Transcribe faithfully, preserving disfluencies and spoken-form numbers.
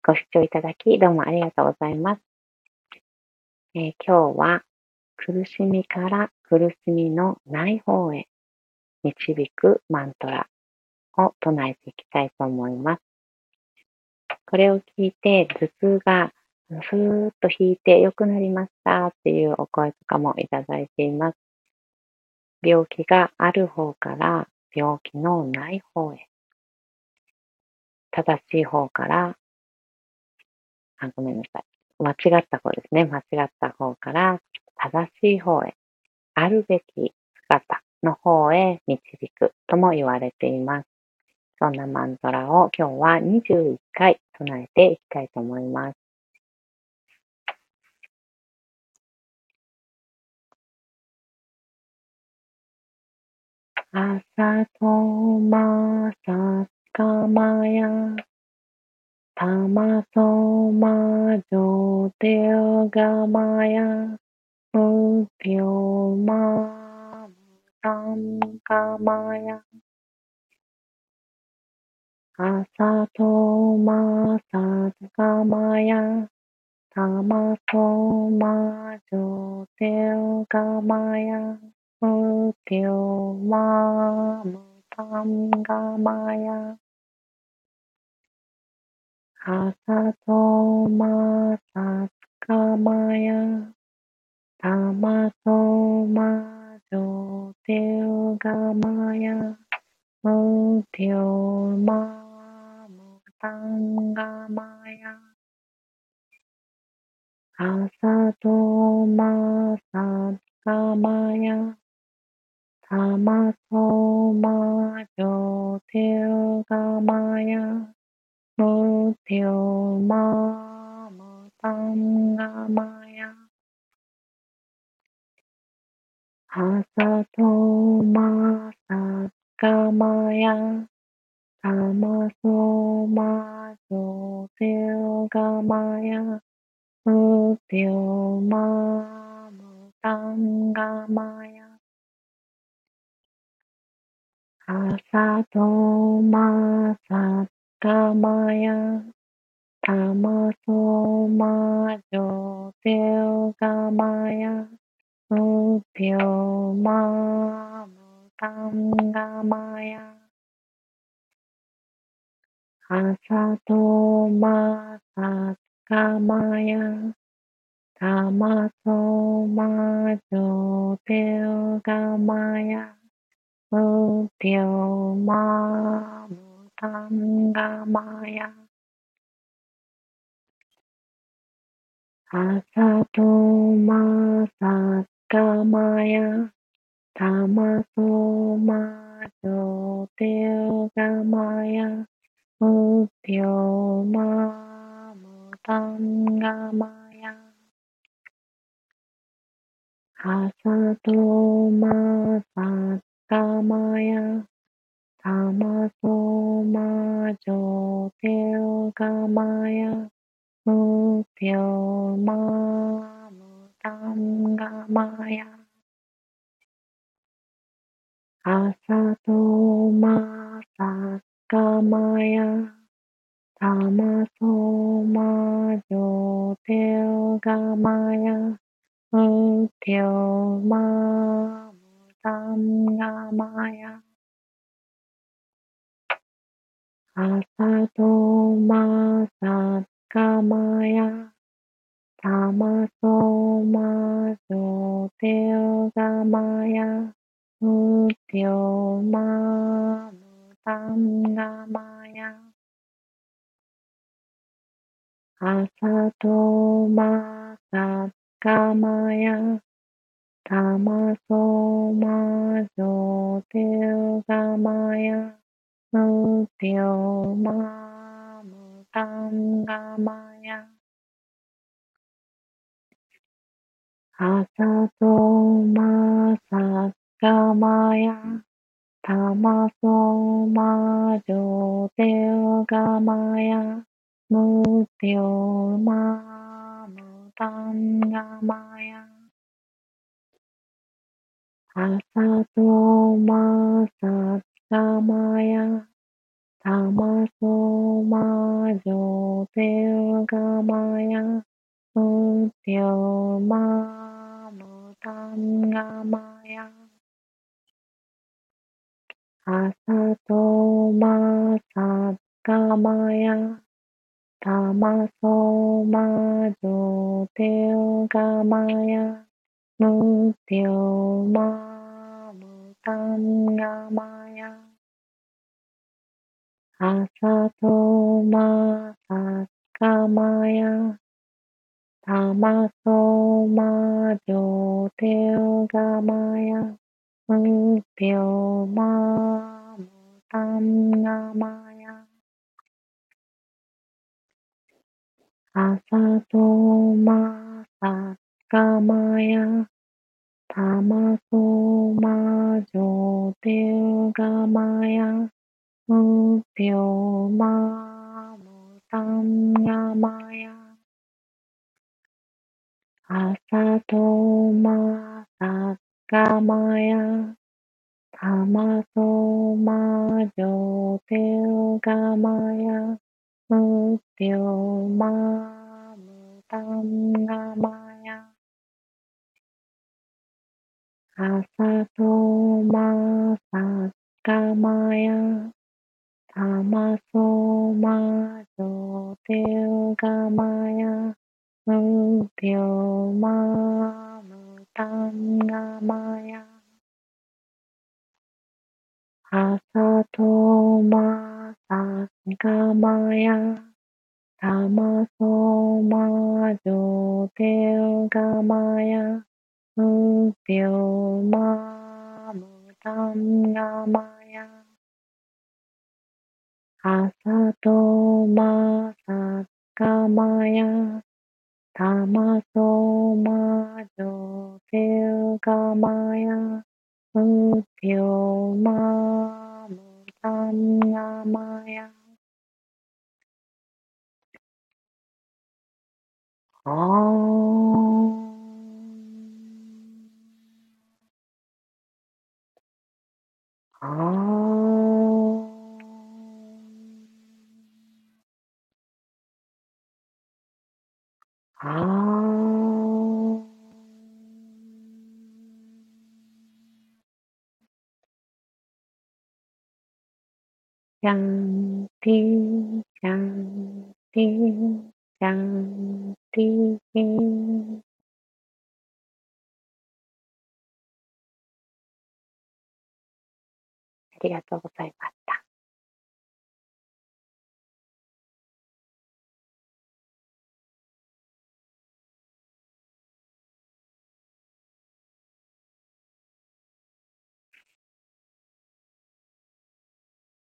ご視聴いただき、どうもありがとうございます。えー今日は、苦しみから苦しみのない方へ導くマントラを唱えていきたいと思います。これを聞いて、頭痛がふーっと引いて良くなりましたっていうお声とかもいただいています。病気がある方から病気のない方へ、正しい方から、あ、ごめんなさい。間違った方ですね。間違った方から正しい方へ、あるべき姿の方へ導くとも言われています。そんなマントラを今日はにじゅういっかい唱えていきたいと思います。朝とまさかまやたまそまじょてうがまやむぴょうまむたんかまや朝とまさかまやたまそまじょてうがまやむぴょうまむたんがまや朝とまさかまやたまそまじょてうがまやむぴょうまむたんがまや朝とまさかまやたまそまじょてうがまやむぴょうまむたんがまや朝とまさかまやたまそまじょてうがまやむぴょうまむたんがまや朝とまさかまやたまそまじょてうがまやむぴょうまむたんがまや朝とまさかまやたまそまじょてうがまやむぴょうまむたんがまや朝とまさかまやたまそまじょてうがまやむぴょうまむたんがまや朝とまさかまやたまそまじょてうがまやむぴょうまむたんがまや朝とまさかまやたまそまじょてうがまやむぴょうまむたんがまや朝とまさかまやたまそまじょてうがまやむぴょうまむたんがまや朝とまさかまやたまそまじょてうがまやむぴょうまむたんがまや朝とまさかまやたまそまじょてうがまやむぴょうまむたんがまや朝とまさかまやたまそまじょてるがまや、むてょまむたんがまや、あさとまさがまや、たまそまじょてるがまや、むてょまむたんがまや、あさとまさかまや、たまそまじょてるがまや、むてょまむたんがまや、あさとまさかまや、たまそまじょてるがまや、むてょまむたんがまや、あさとまさかまや、たまそまじょてるがまや、むてょまむたんがまや、あさとまさかまや、たまそまじょてるがまや、むてょまむたんがまや、あさとまさかまや、たまそまじょてるがまや、むてょまむたんがまや、あさとまさかまや、たまそまじょてるがまや、むてょまむたんがまや、あーあーあーシャンティ、シャンティ、シャンティ。ありがとうございます。